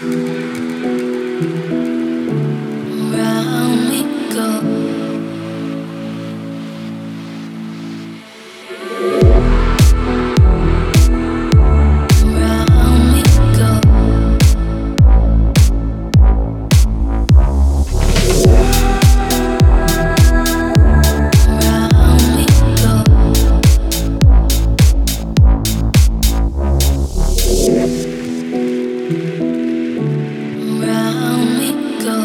Round we go. Round we go. Round we go. Round we go.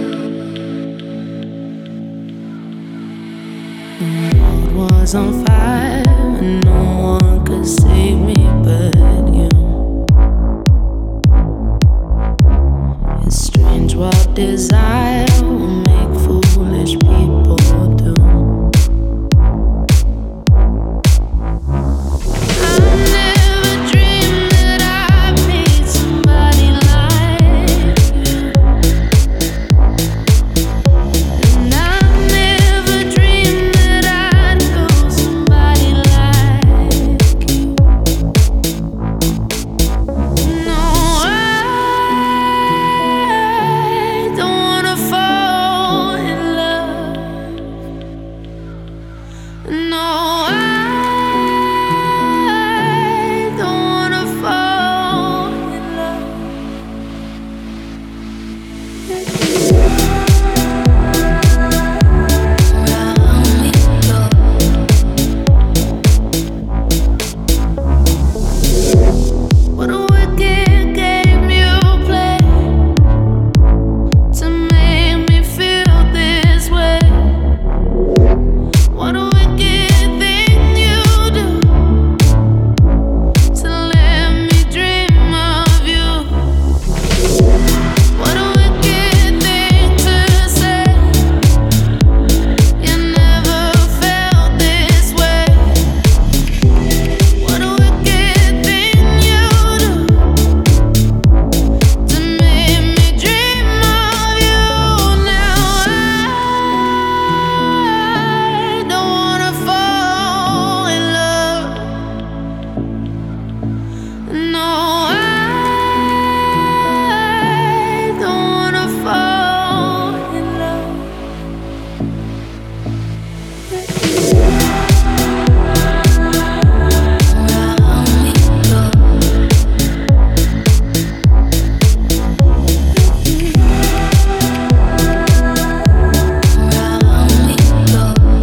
The world was on fire and no one could save me but you. It's strange what desire will make foolish people do. I never dreamed that I'd meet somebody like you. And I never dreamed that I'd know somebody like you. No, I don't wanna fall in love. No, I don't wanna fall in love. Round we go. What a wicked game you play to make me feel this way. What a wicked thing you do to let me dream of you. What a wicked thing to say. You never felt this way. What a wicked thing you do to make me dream of you. Now I don't wanna fall in love. No, I don't wanna fall in love. Round we go. Round we go.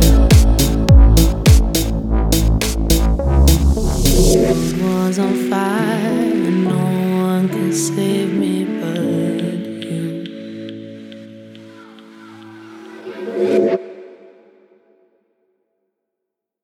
Was on fire and no one could save me but you.